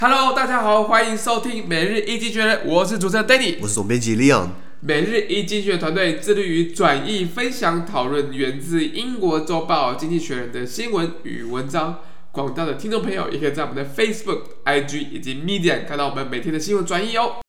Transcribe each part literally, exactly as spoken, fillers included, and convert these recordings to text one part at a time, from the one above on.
Hello， 大家好，歡迎收聽每日一經濟學人，我是主持人 Danny， 我是總編輯 Leon。 每日一經濟學人團隊致力於轉譯、分享、討論源自英國週報《經濟學人》的新聞與文章。廣大的聽眾朋友也可以在我們的 Facebook、I G 以及 Medium 看到我們每天的新聞轉譯哦。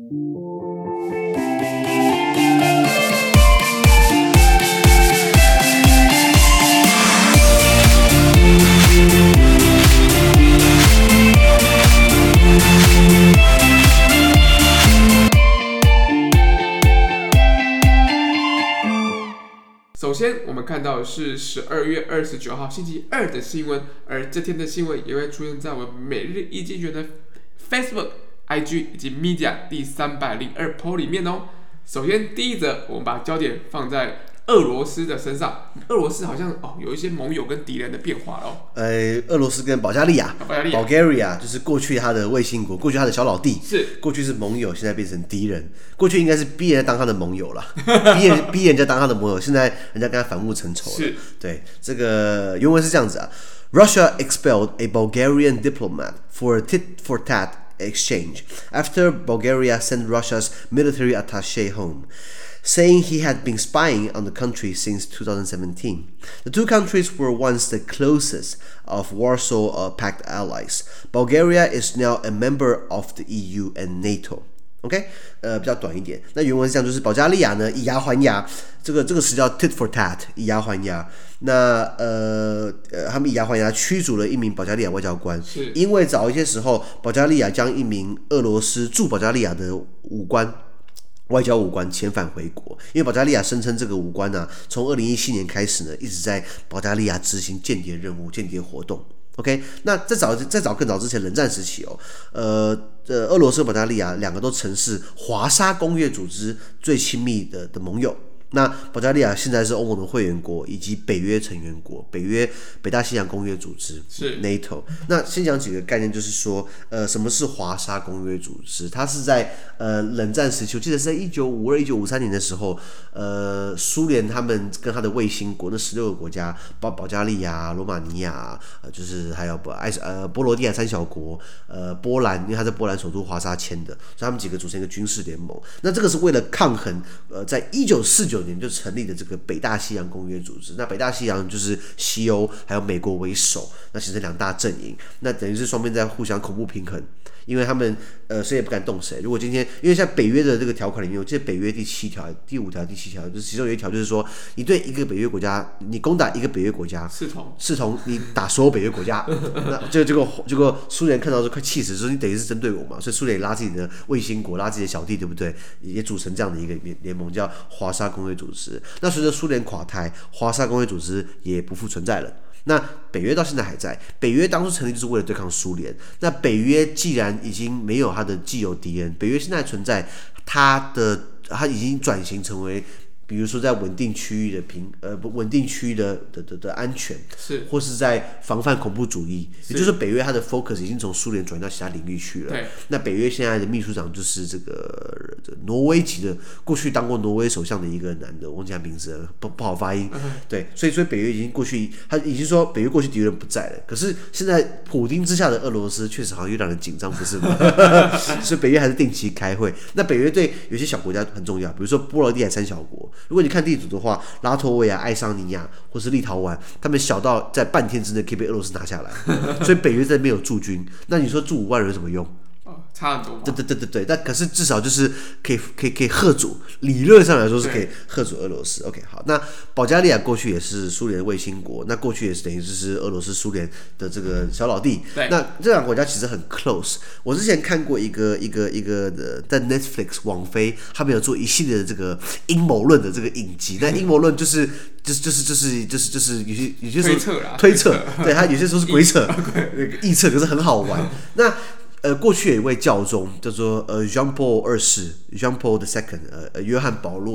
首先，我們看到的是十二月二十九號星期二的新聞，而這天的新聞也會出現在我們每日一經濟學人的 Facebook、I G 以及 Media 第三百零二 po 裡面哦。首先，第一則，我們把焦點放在俄羅斯的身上。俄羅斯好像哦有一些盟友跟敌人的變化咯。 呃，俄羅斯跟保加利亞 ，Bulgaria 就是過去他的衛星國，過去他的小老弟， 是過去是盟友，現在變成敵人。過去應該是逼人家當他的盟友了，逼人逼人家當他的盟友，現在人家跟他反目成仇了。 是， 對，這個原文是這樣子啊 ：Russia expelled a Bulgarian diplomat for a tit for tat exchange after Bulgaria sent Russia's military attaché home, saying he had been spying on the country since two thousand seventeen. The two countries were once the closest of Warsaw uh, Pact allies. Bulgaria is now a member of the E U and NATO.OK， 呃，比較短一點。那原文是這樣，就是保加利亞呢以牙還牙，這個這個詞叫 tit for tat， 以牙還牙。那呃呃，他們以牙還牙驅逐了一名保加利亞外交官，因為早一些時候，保加利亞將一名俄羅斯駐保加利亞的武官。外交武官遣返回國，因為保加利亞聲稱這個武官呢、啊，從二零一七年開始呢，一直在保加利亞執行間諜任務、間諜活動。OK， 那在早在早更早之前，冷戰時期哦，呃呃，俄羅斯和保加利亞兩個都曾是華沙公約組織最親密的的盟友。那保加利亞現在是歐盟的會員國以及北約成員國，北約北大西洋公約組織是 NATO。那先講幾個概念，就是說，呃，什麼是華沙公約組織？它是在呃冷戰時期，我記得是在一九五二、一九五三年的時候，呃，蘇聯他們跟他的衛星國那十六個國家，包保加利亞、羅馬尼亞，呃，就是還有愛呃波羅的海三小國，呃，波蘭，因為他在波蘭首都華沙簽的，所以他們幾個組成一個軍事聯盟。那這個是為了抗衡，呃，在一九四九年就成立的這個北大西洋公約組織，那北大西洋就是西歐還有美國為首，那形成兩大陣營，那等於是雙邊在互相恐怖平衡，因為他們呃誰也不敢動誰。如果今天因為像北約的這個條款裡面，我記得北約第七條、第五條、第七條，就是其中有一條就是說，你對一個北約國家，你攻打一個北約國家，視同視同你打所有北約國家，那就結果結果蘇聯看到就快氣死，說你等於是針對我嘛，所以蘇聯也拉自己的衛星國，拉自己的小弟，對不對？也組成這樣的一個聯盟，叫華沙公約組織。那隨着蘇聯垮台，華沙公約組織也不復存在了。那北約到現在還在，北約當初成立就是為了對抗蘇聯。那北約既然已經沒有它的既有敵人，北約現在存在，它的它已經轉型成為，比如說在穩定區域的平呃不穩定區域的的的的安全，是或是在防範恐怖主義，也就是北約它的 focus 已經從蘇聯轉移到其他領域去了。那北約現在的秘書長就是這個、這個、挪威籍的，過去當過挪威首相的一個男的，我忘記他名字了，不不好發音。嗯、對，所以所以北約已經過去，他已經說北約過去敵人不在了。可是現在普丁之下的俄羅斯確實好像又讓人緊張，不是嗎？所以北約還是定期開會。那北約對有些小國家很重要，比如說波羅的海三小國。如果你看地圖的話，拉脫維亞、愛沙尼亞或是立陶宛，他們小到在半天之內可以被俄羅斯拿下來，所以北約在那邊有駐軍。那你說駐五萬人有什麼用？ 差很多嘛。 對對对对对，但可是至少就是可以可以可以嚇阻，理論上來說是可以嚇阻俄羅斯。OK， 好，那保加利亞過去也是蘇聯的衛星國，那過去也是等於就是俄羅斯蘇聯的這個小老弟。那這兩個國家其實很 close。我之前看過一個一個一個的，在 Netflix 網飛，他們有做一系列的這個陰謀論的這個影集。那陰謀論就是就是就是就是就是就是有些有些時候推測啦，推測，對，他有些時候是鬼扯、臆測，可是很好玩。那呃，過去有一位教宗叫做呃 Jean Paul 二世 Jean Paul the Second 呃呃約翰保羅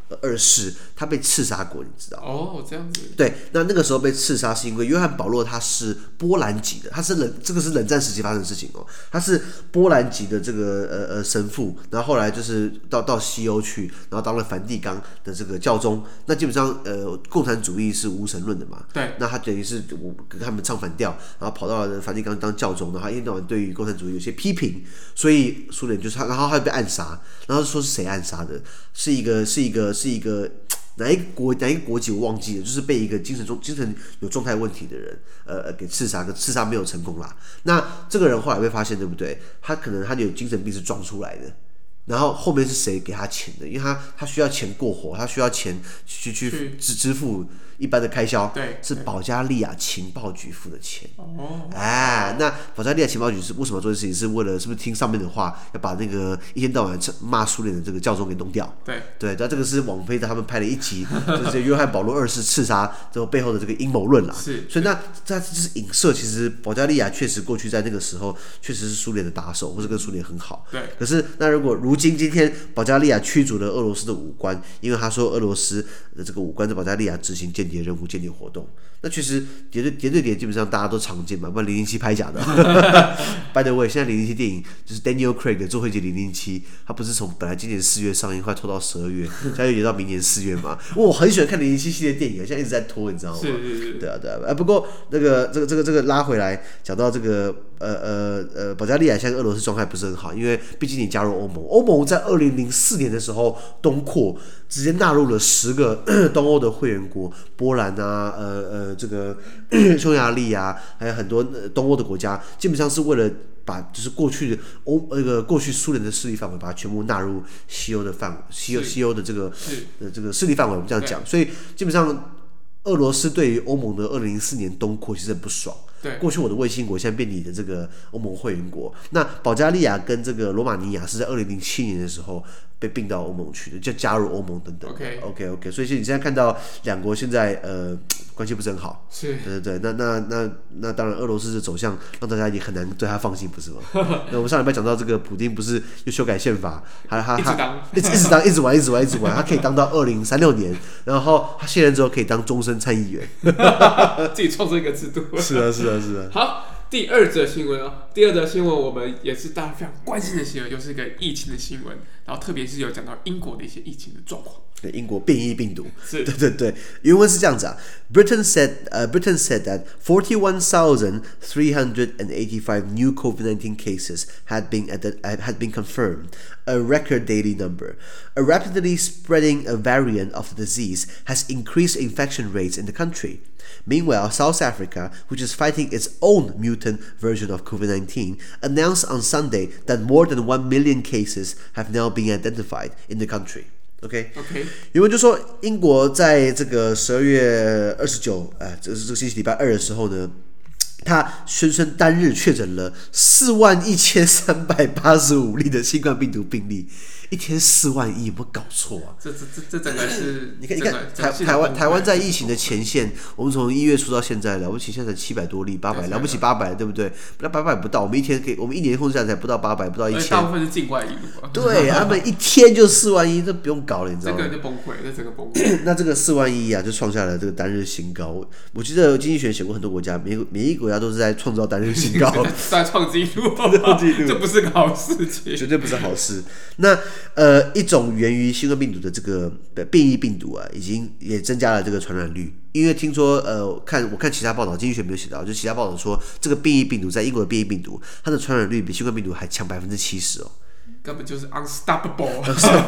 二世，他被刺殺過，你知道？ 哦，這樣子。 對，那那個時候被刺殺是因為約翰保羅他是波蘭籍的，他是冷，這個是冷戰時期發生的事情哦。他是波蘭籍的這個呃呃神父，然後後來就是到到西歐去，然後當了梵蒂岡的這個教宗。那基本上呃共產主義是無神論的嘛，對。那他等於是跟他們唱反調，然後跑到了梵蒂岡當教宗，然後一天到晚對於共產主義有些批評，所以蘇聯就是他，然後他就被暗殺，然後說是誰暗殺的？是一個是一個是一個哪一個國哪一個國籍我忘記了，就是被一個精神中精神有狀態問題的人呃給刺殺，可刺殺沒有成功啦。那這個人後來被發現，對不對？他可能他有精神病是裝出來的。然後後面是誰給他錢的？因為他他需要錢過活，他需要錢去去支支付一般的開銷。對，是保加利亞情報局付的錢。哦，哎，那保加利亞情報局是為什麼做這事情？是為了是不是聽上面的話，要把那個一天到晚罵蘇聯的這個教宗給弄掉？對對，那這個是網飛的他們拍了一集，就是約翰保羅二世刺殺這個背後的這個陰謀論啦。是，所以那這就是影射，其實保加利亞確實過去在那個時候確實是蘇聯的打手，或者跟蘇聯很好。對，可是那如果如今今天保加利亞驅逐了俄羅斯的武官，因為他說俄羅斯的這個武官在保加利亞執行間諜任務、間諜活動，那確實諜對諜對諜基本上大家都常見嘛，不然零零七拍假的。By the way， 現在零零七電影就是 Daniel Craig 的《最後一集零零七》，他不是從本來今年四月上映，快拖到十二月，現在又延到明年四月嘛。我很喜歡看零零七系列電影，現在一直在拖，你知道嗎？是是是。對啊對啊。啊，不過那個這個這個這個拉回來講到這個呃呃呃保加利亞現在俄羅斯狀態不是很好，因為畢竟你加入歐盟，歐盟在二零零四年的時候東擴，直接納入了十個東歐的會員國，波蘭啊，呃呃這個匈牙利啊，還有很多東歐的國家，基本上是為了把就是過去的歐那個過去蘇聯的勢力範圍，把它全部納入西歐的範西歐西歐的這個的這個勢力範圍，我們這樣講，所以基本上俄羅斯對於歐盟的二零零四年東擴其實很不爽。對，過去我的衛星國現在變你的這個歐盟會員國，那保加利亞跟這個羅馬尼亞是在二零零七年的時候被併到歐盟去的，就加入歐盟等等。OK OK OK， 所以你現在看到兩國現在呃關係不是很好，是，對對對，那那那那當然俄羅斯的走向讓大家也很難對他放心，不是嗎？那我們上禮拜講到這個普丁不是又修改憲法，還還還一直一直當一直玩一直玩一直玩，他可以當到二零三六年，然後他卸任之後可以當終身參議員， 自己創造一個制度。 是啊是啊是啊。 好。第二則新聞啊，第二則新聞我們也是大家非常關心的新聞，就是一個疫情的新聞，然後特別是有講到英國的一些疫情的狀況。 對，英國變異病毒，是，對對对，原文是這樣子啊 ，Britain said, uh, Britain said that forty-one thousand three hundred eighty-five new COVID nineteen cases had been had been confirmed, a record daily number. A rapidly spreading a variant of the disease has increased infection rates in the country. Meanwhile, South Africa, which is fighting its own mutant version of COVID nineteen, announced on Sunday that more than one million cases have now been identified in the country.OK， OK， 原文就說，英國在這個十二月二十九，哎，這是這個星期禮拜二的時候呢，他宣稱單日確診了四萬一千三百八十五例的新冠病毒病例。一天四萬億，有沒有搞錯啊？ 這這這這整個是， 你看你看台台灣台灣在疫情的前線，我們從一月初到現在了不起，現在才七百多例，八百了不起八百，對不对？那八百不到，我們一天可以，我們一年控制下來才不到八百，不到一千。 大部分是境外移入。 對，他們一天就四萬億，這不用搞了，你知道嗎？ 這個就崩潰，這整個崩潰。 那這個四萬億啊，就創下了這個單日新高。我我記得經濟學寫過很多國家，每每一個國家都是在創造單日新高， 在創紀錄，創紀錄，這不是個好事情， 絕對不是好事。那呃，一種源於新冠病毒的這個變異病毒啊，已經也增加了這個傳染率。因為聽說，呃，看我看其他報道，經濟學沒有寫到，就其他報道說，這個變異病毒在英國的變異病毒，它的傳染率比新冠病毒還強百分之七十哦， 根本就是 unstoppable，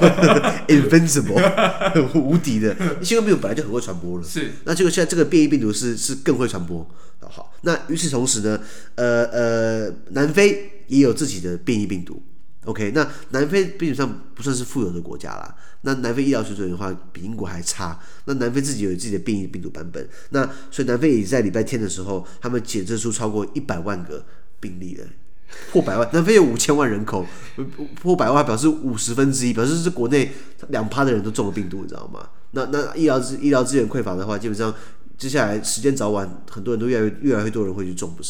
invincible， 無敵的。新冠病毒本來就很會傳播了，是。那結果現在這個變異病毒是是更會傳播。好，那與此同時呢，呃呃，南非也有自己的變異病毒。OK， 那南非基本上不算是富有的國家啦。那南非醫療水準的話，比英國還差。那南非自己有自己的變異病毒版本。那所以南非也在禮拜天的時候，他們檢測出超過一百萬個病例了，破百萬。南非有五千萬人口，破百萬表示五十分之一，表示是國內兩趴的人都中了病毒，你知道嗎？那那醫療資醫療資源匱乏的話，基本上接下來時間早晚，很多人都越來越越來越多人會去中，不是嗎？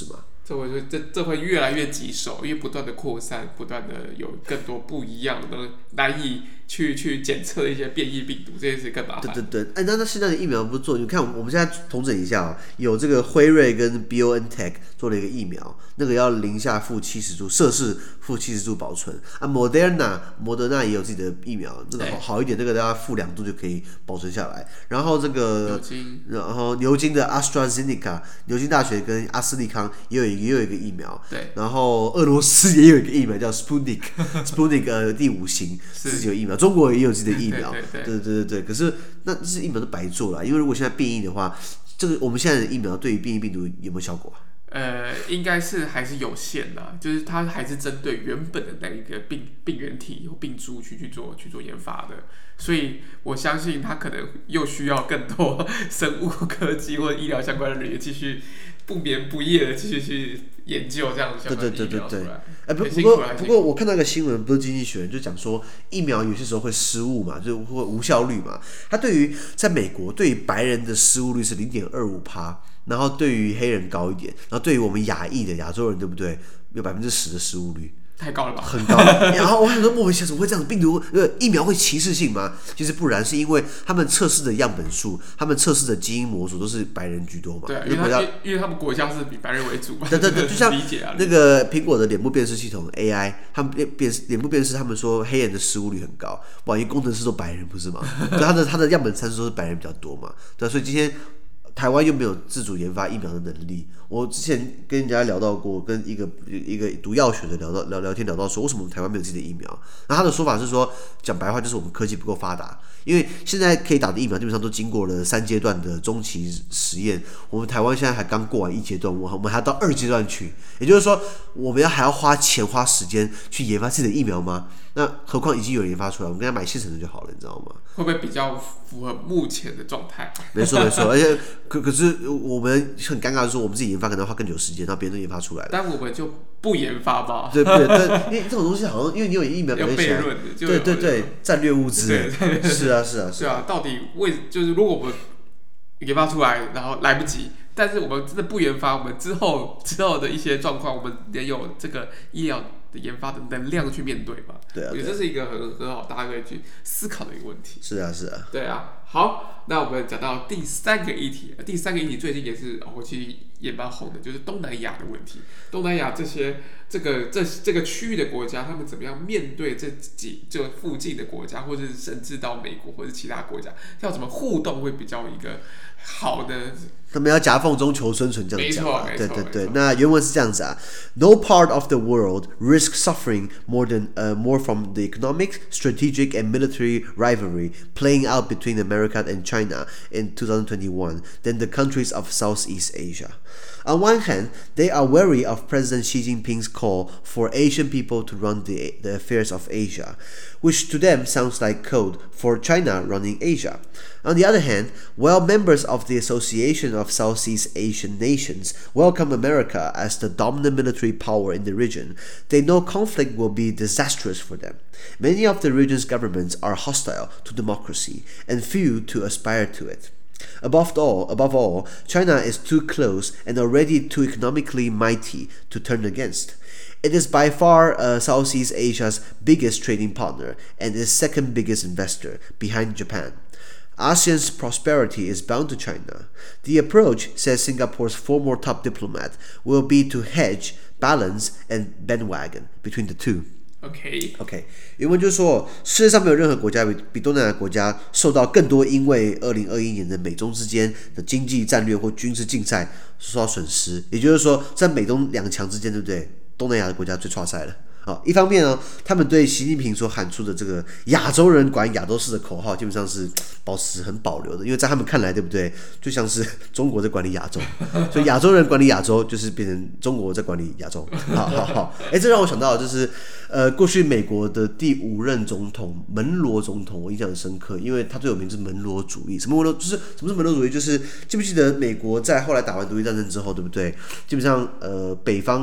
這會這這會越來越棘手，因為不斷的擴散，不斷的有更多不一樣的難以去去檢測的一些變異病毒，這件事更麻煩。 对对对，哎，那那現在的疫苗不是做？你看我們現在統整一下啊，有這個輝瑞跟 BioNTech 做了一個疫苗，那個要零下負七十度攝氏負七十度保存啊。Moderna 摩德納也有自己的疫苗，那個好好一點，那個大概負兩度就可以保存下來。然後這個牛津， 然後牛津的 AstraZeneca， 牛津大學跟阿斯利康也有也有一個疫苗。 对。 然後俄羅斯也有一個疫苗叫 Sputnik，Sputnik 呃第五型自己有疫苗，中國也有自己的疫苗。 对对 对, 对对对对，可是那這些疫苗都白做了，因為如果現在變異的話，這個我們現在的疫苗對於變異病毒有沒有效果啊？ 呃，應該是還是有限的，就是它還是針對原本的那一個病病原體或病株去去做去做研發的，所以我相信它可能又需要更多生物科技或者醫療相關的人員繼續不眠不夜的繼續去研究這樣相關的疫苗出來。 哎、欸，不不過不過我看到一個新聞，不是經濟學人就講說疫苗有些時候會失誤嘛，就會無效率嘛。它對於在美國對於白人的失誤率是零點二五趴。然後對於黑人高一點，然後對於我們亞裔的亞洲人，對不對？有百分之十的失誤率， 太高了吧？很高。然後我想說，莫名其妙怎麼會這樣？病毒呃疫苗會歧視性嗎？其實不然，是因為他們測試的樣本數，他們測試的基因模組都是白人居多嘛。 對，因為他因為他們國家是以白人為主嘛。 對對對，就像那個蘋果的臉部辨識系統 A I， 他們辨臉部辨識，他們說黑人的失誤率很高，哇，因為工程師都白人不是嗎？所以他的他的樣本參數都是白人比較多嘛。對，所以今天。台灣又沒有自主研發疫苗的能力。我之前跟人家聊到過，跟一個一個讀藥學的聊到聊聊天聊到說，為什麼我們台灣沒有自己的疫苗？那他的說法是說，講白話就是我們科技不夠發達，因為現在可以打的疫苗基本上都經過了三階段的中期實驗，我們台灣現在還剛過完一階段，我們還要到二階段去，也就是說，我們要還要花錢花時間去研發自己的疫苗嗎？那何況已經有人研發出來，我們跟他買現成的就好了，你知道嗎？ 會不會比較符合目前的狀態？ 沒錯沒錯，而且可可是我們很尷尬的是，我們自己研發可能要花更久時間，然後別人都研發出來了， 但我們就不研發吧？ 對對對，因為這種東西好像因為你有疫苗， 有悖論的， 對對對，戰略物資，是啊是啊是啊，到底為就是如果我們研發出來，然後來不及。但是我們真的不研發，我們之後之後的一些狀況，我們也有這個醫療的研發的能量去面對嘛？ 對啊， 我覺得這是一個很很好，大家可以去思考的一個問題。 是啊，是啊。 對啊，好，那我們講到第三個議題，第三個議題最近也是哦，其實也蠻紅的，就是東南亞的問題。東南亞這些這個這這個區域的國家，他們怎麼樣面對這幾這附近的國家，或者是甚至到美國或者其他國家，要怎麼互動會比較一個好的？ 他們要夾縫中求生存，這樣講、啊。對對對，那原文是這樣子啊 ：No part of the world risks suffering more than uh, more from the economic, strategic, and military rivalry playing out between America and China in twenty twenty-one than the countries of Southeast Asia. On one hand, they are wary of President Xi Jinping's call for Asian people to run the, the affairs of Asia, which to them sounds like code for China running Asia. On the other hand, while members of the Association of Southeast Asian Nations welcome America as the dominant military power in the region, they know conflict will be disastrous for them. Many of the region's governments are hostile to democracy, and few to aspire to it. Above all, above all, China is too close and already too economically mighty to turn against. It is by far uh, Southeast Asia's biggest trading partner and its second biggest investor, behind Japan. ASEAN's prosperity is bound to China. The approach, says Singapore's former top diplomat, will be to hedge, balance, and bandwagon between the two. OK OK， 原文就是說，世界上沒有任何國家比比東南亞國家受到更多因為二零二一年的美中之間的經濟戰略或軍事競賽受到損失。也就是說，在美東兩強之間，對不對？東南亞的國家最挫賽了。好，一方面呢，他們對習近平所喊出的這個亞洲人管亞洲事的口號，基本上是保持很保留的，因為在他們看來，對不對？就像是中國在管理亞洲，所以亞洲人管理亞洲，就是變成中國在管理亞洲。好好好，哎，這讓我想到就是，呃，過去美國的第五任總統門羅總統，我印象很深刻，因為他最有名是門羅主義。什麼門羅？就是什麼是門羅主義？就是記不記得美國在後來打完獨立戰爭之後，對不對？基本上，呃，北方。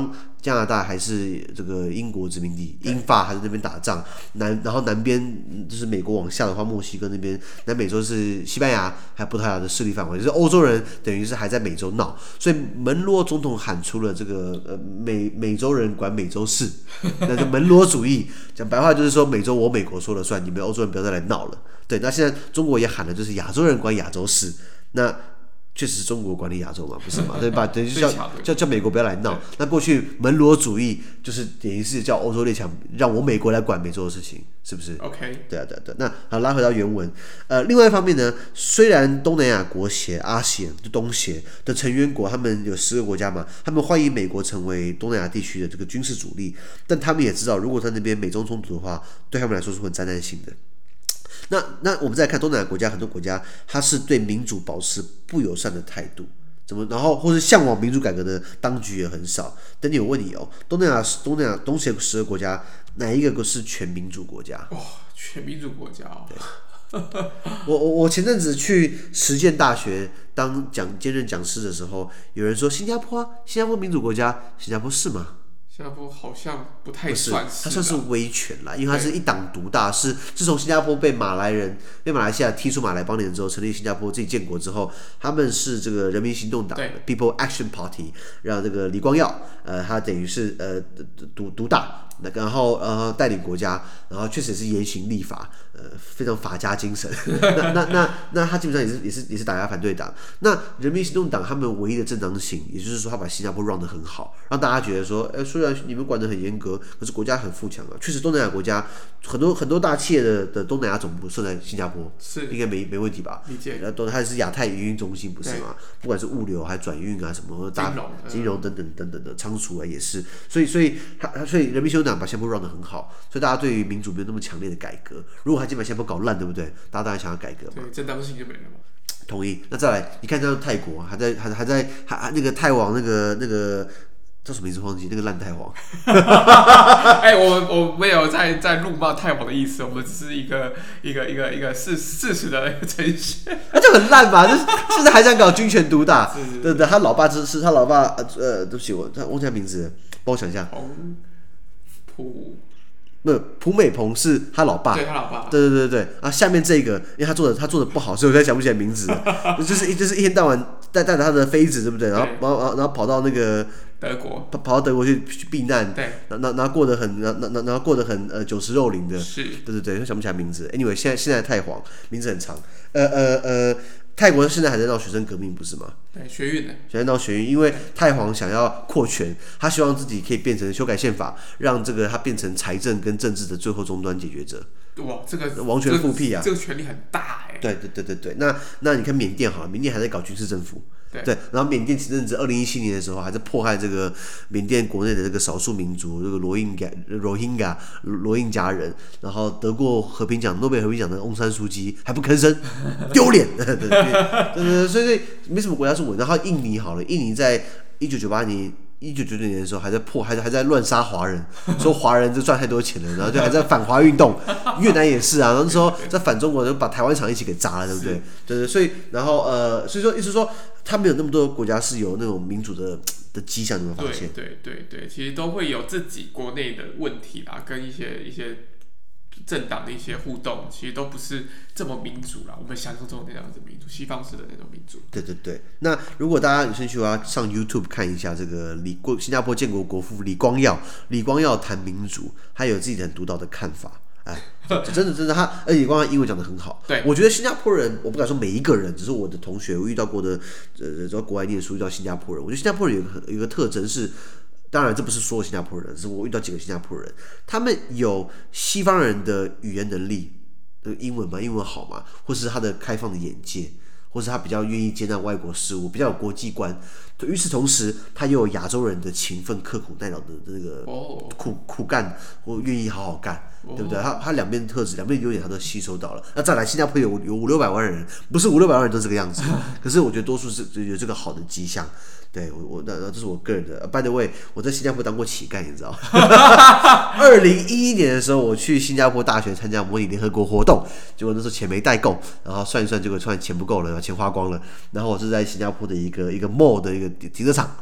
加拿大還是這個英國殖民地，英法還在那邊打仗，南然後南邊就是美國往下的話，墨西哥那邊，南美洲是西班牙還有葡萄牙的勢力範圍，就是歐洲人等於是還在美洲鬧，所以門羅總統喊出了這個呃美美洲人管美洲事，那就門羅主義，講白話就是說美洲我美國說了算，你們歐洲人不要再來鬧了。對，那現在中國也喊的就是亞洲人管亞洲事，那確實是中國管理亞洲嘛，不是嘛？對吧？等於叫叫叫美國不要來鬧。那過去門羅主義就是等於是叫歐洲列強讓我美國來管美洲的事情，是不是 ？OK。 對啊，對啊，對啊。那好，拉回到原文。呃，另外一方面呢，雖然東南亞國協 A S E A N 就東協的成員國，他們有十個國家嘛，他們歡迎美國成為東南亞地區的這個軍事主力，但他們也知道，如果在那邊美中衝突的話，對他們來說是很災難性的。那那我們再來看東南亞國家，很多國家它是對民主保持不友善的態度，怎麼然後或是向往民主改革的當局也很少。等你有問你哦，東南亞東南亞東協十個國家哪一個是全民主國家？ 哇、哦，全民主國家哦。 對我我我前陣子去實踐大學當講兼任講師的時候，有人說新加坡啊，新加坡民主國家，新加坡是嗎？ 新加坡好像不太算是， 它算是威權啦，因為它是一黨獨大，是自從新加坡被馬來人被馬來西亞踢出馬來邦联之後，成立新加坡自己建國之後，他們是這個人民行動黨 People Action Party， 讓這個李光耀，呃，他等於是呃獨獨大，然後呃帶領國家，然後確實也是嚴刑立法，呃非常法家精神。那那那那他基本上也是也是也是打壓反對黨。那人民行動黨他們唯一的正當性，也就是說他把新加坡 run 得很好，讓大家覺得說，哎，雖然你們管得很嚴格，可是國家很富強啊。確實，東南亞國家很多很多大企業的的東南亞總部設在新加坡， 是應該沒沒問題吧？ 理解。 然後它是亞太營運中心，不是嗎？不管是物流還是轉運啊，什麼大金融、 金融等等等等的倉儲啊，也是。所以所以他所以人民行動黨把新加坡 run 得很好，所以大家對於民主沒有那麼強烈的改革。如果他今天把新加坡搞爛，對不對？大家當然想要改革嘛。 對，正當性就沒了嘛。 同意。那再來，你看像泰國還在還還在還那個泰王那個那個。叫什麼名字忘記？那個爛泰皇。 哎、欸，我我沒有在在怒罵泰皇的意思，我們只是一個一個一個一個事事實的一個呈現。 那就很爛嘛，就是現在還想搞軍權獨大。是是是對對，他老爸是他老爸呃，對不起，我他忘記他名字了，幫我想一下。洪普。不，蒲美蓬是他老爸， 對他老爸， 對对对对啊，下面這個，因為他做的他做的不好，所以我才想不起來名字。就是就是一天到晚帶帶着他的妃子，對不对？然後然後然後跑到那個德國， 跑到德國去去避難， 對， 然後然後過得很，然後然後過得很呃酒池肉林的， 是， 對對對，想不起來名字。Anyway， 現在現在太皇名字很長，呃呃呃。泰國現在還在鬧學生革命，不是嗎？ 對，學運的， 現在鬧學運，因為泰皇想要擴權，他希望自己可以變成修改憲法，讓這個他變成財政跟政治的最後終端解決者。 哇，這個王權復辟啊， 這個權力很大哎。 對對对對對，那那你看緬甸好了，緬甸還在搞軍事政府。對，然後緬甸前陣子二零一七年的時候，還在迫害這個緬甸國內的這個少數民族，這個羅英加、羅英加、羅英加人，然後得過和平獎、諾貝爾和平獎的翁山蘇姬還不吭聲，丟臉。對對對，所以沒什麼國家是穩。然後印尼好了，印尼在一九九八年。一九九九年的時候還在破，還在還在亂殺華人，說華人就賺太多錢了，然後就還在反華運動。越南也是啊，那時候在反中國，就把台灣廠一起給砸了，對不對？對對，所以然後呃，所以說意思說，他們有那麼多國家是有那種民主的的跡象，你們發現？ 對對對對，其實都會有自己國內的問題啦，跟一些一些。政黨的一些互動，其實都不是這麼民主啦。我們想象中的那樣子民主，西方式的那種民主。對對對。那如果大家有興趣的話，上 YouTube 看一下這個李新加坡建國國父李光耀，李光耀談民主，他有自己很獨到的看法。哎，真的真的，他而且李光耀英文講得很好。對，我覺得新加坡人，我不敢說每一個人，只是我的同學，我遇到過的，呃，在國外念書遇到新加坡人，我覺得新加坡人有一個有一個特徵是。當然，這不是所有新加坡人，是我遇到幾個新加坡人，他們有西方人的語言能力，英文嘛，英文好嘛，或是他的開放的眼界，或是他比較願意接納外國事物，比較有國際觀。與此同時，他又有亞洲人的勤奮、刻苦耐勞的那個苦苦幹，或願意好好幹，對不對？他他兩邊的特質，兩邊優點他都吸收到了。那再來，新加坡有有五六百萬人，不是五六百萬人都這個樣子，可是我覺得多數是有這個好的跡象。對我我那那這是我個人的。By the way，我在新加坡當過乞丐，你知道嗎？二零一一年的時候，我去新加坡大學參加模擬聯合國活動，結果那時候錢沒帶夠，然後算一算，結果突然錢不夠了，然後錢花光了。然後我是在新加坡的一個一個 mall 的一個停車場，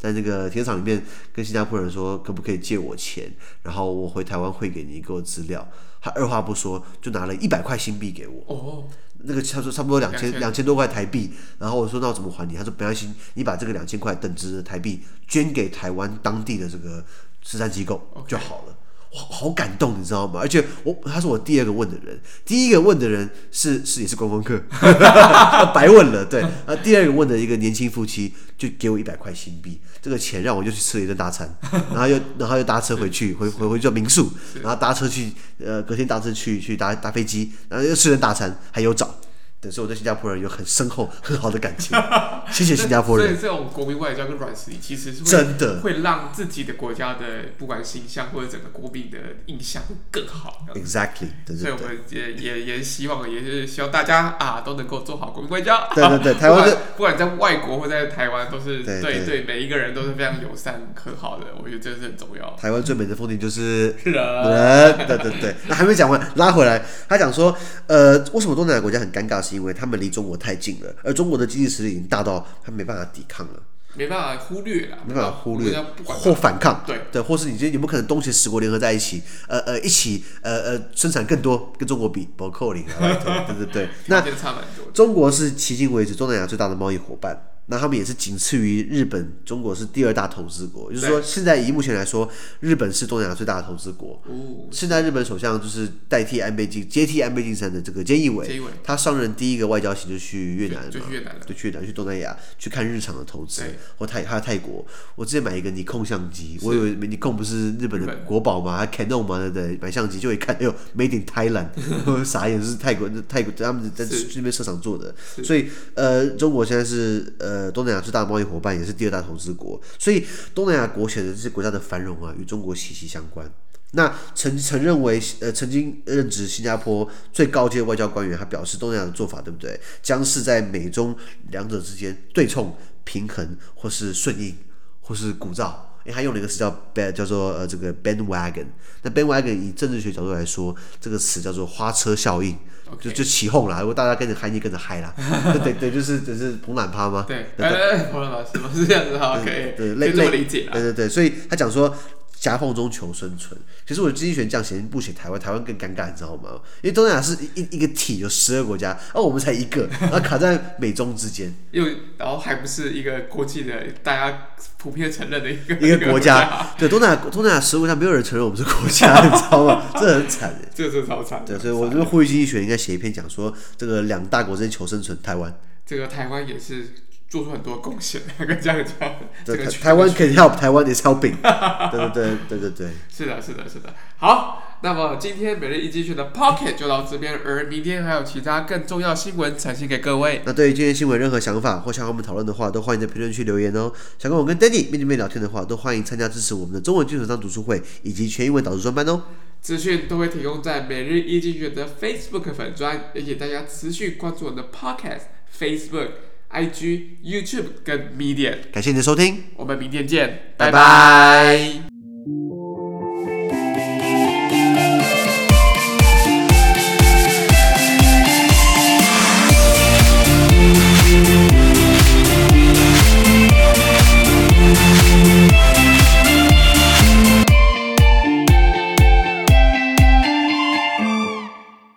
在那個停車場裡面跟新加坡人說，可不可以借我錢，然後我回台灣匯給你，給我資料。他二話不說就拿了一百塊新幣給我。哦。那個他說差不多兩千兩千多塊台幣，然後我說那我怎麼還你？他說沒關係，你把這個兩千塊等值的台幣捐給台灣當地的這個慈善機構就好了。哇，好感動，你知道嗎？而且我他是我第二個問的人，第一個問的人是是也是觀光客，白問了。對，啊，第二個問的一個年輕夫妻就給我一百塊新幣，這個錢讓我就去吃了一頓大餐，然後又然後又搭車回去，回回回去民宿，然後搭車去呃隔天搭車去去搭搭飛機，然後又吃了大餐，還有找。對，所以我對新加坡人有很深厚、很好的感情。謝謝新加坡人。 所以這種國民外交跟軟實力，其實是會真的會讓自己的國家的不管形象或者整個國民的印象會更好。 Exactly， 對對對。 所以我們也也也希望，也是希望大家啊都能夠做好國民外交。 對對對，台灣不, 不管在外國或在台灣，都是對 對, 對每一個人都是非常友善和好的。我覺得這是很重要。 台灣最美的風景就是人， 人。對對對。那還沒講完，拉回來，他講說，呃，為什麼東南亞國家很尷尬？是因為他們離中國太近了，而中國的經濟實力已經大到他沒辦法抵抗了， 沒辦法忽略了， 沒辦法忽略或反抗， 對對，或是你覺得有沒有可能東協十國聯合在一起，呃呃，一起呃呃生產更多，跟中國比不扣零，對對對，那中國是迄今為止東南亞最大的貿易夥伴。那他們也是僅次於日本，中國是第二大投資國，也就是說，現在以目前來說，日本是東南亞最大的投資國。哦、現在日本首相就是代替安倍晉接替安倍晉三的這個菅義偉，他上任第一個外交行就去越南嘛，就去越南，就去越南去東南亞去看日常的投資，或泰還有泰國。我之前買一個尼康相機，我以為尼康不是日本的國寶嘛，還 Canon 嘛，對不對？買相機就一看，哎呦 ，Made in Thailand， 傻眼，是泰國泰國他們在這邊設廠做的，所以呃，中國現在是呃。呃，東南亞最大的貿易夥伴，也是第二大投資國，所以東南亞國顯的這些國家的繁榮啊，與中國息息相關。那曾曾認為，呃，曾經任職新加坡最高階外交官員，他表示，東南亞的做法，對不對？將是在美中兩者之間對沖、平衡，或是順應，或是鼓噪。因為他用了一個詞叫 band， 叫做呃這個 bandwagon。那 bandwagon 以政治學角度來說，這個詞叫做花車效應。Okay. 就就起哄啦，如果大家跟着嗨，你跟着嗨啦，對對，就是就是捧懶趴嘛。對，對對， 捧懶趴是嗎？是這樣子哈，可以， 對， 可以這麼理解啦。 對對對，所以他講說夾縫中求生存。其實我的經濟學這樣寫不寫台灣，台灣更尷尬，你知道嗎？因為東南亞是一一個體有十二國家，而、哦、我們才一個，然後卡在美中之間， 又然後還不是一個國際的大家普遍承認的一個一個國家。對，東南亞東南亞十國家沒有人承認我們是國家，你知道嗎？這很慘的， 這個真的超慘。 對，所以我就呼籲經濟學應該寫一篇講說這個兩大國之間求生存，台灣。 這個台灣也是做出很多貢獻，跟這樣講。這個台灣 can help， 台灣 is helping。對對對對對對。 是的，是的，是的。好，那麼今天每日一經濟學的 Pocket 就到這邊，而明天還有其他更重要新聞呈現給各位。 那對於今天新聞任何想法或想和我們討論的話，都歡迎在評論區留言哦。想跟我跟 Danny 面對面聊天的話，都歡迎參加支持我們的中文基礎上讀書會以及全英文導讀專班哦。 資訊都會提供在每日一經濟學的 Facebook 粉專，也請大家持續關注我們的 Podcast、Facebook、I G、YouTube 跟 Medium。 感謝你的收聽， 我們明天見， 拜拜。 拜拜。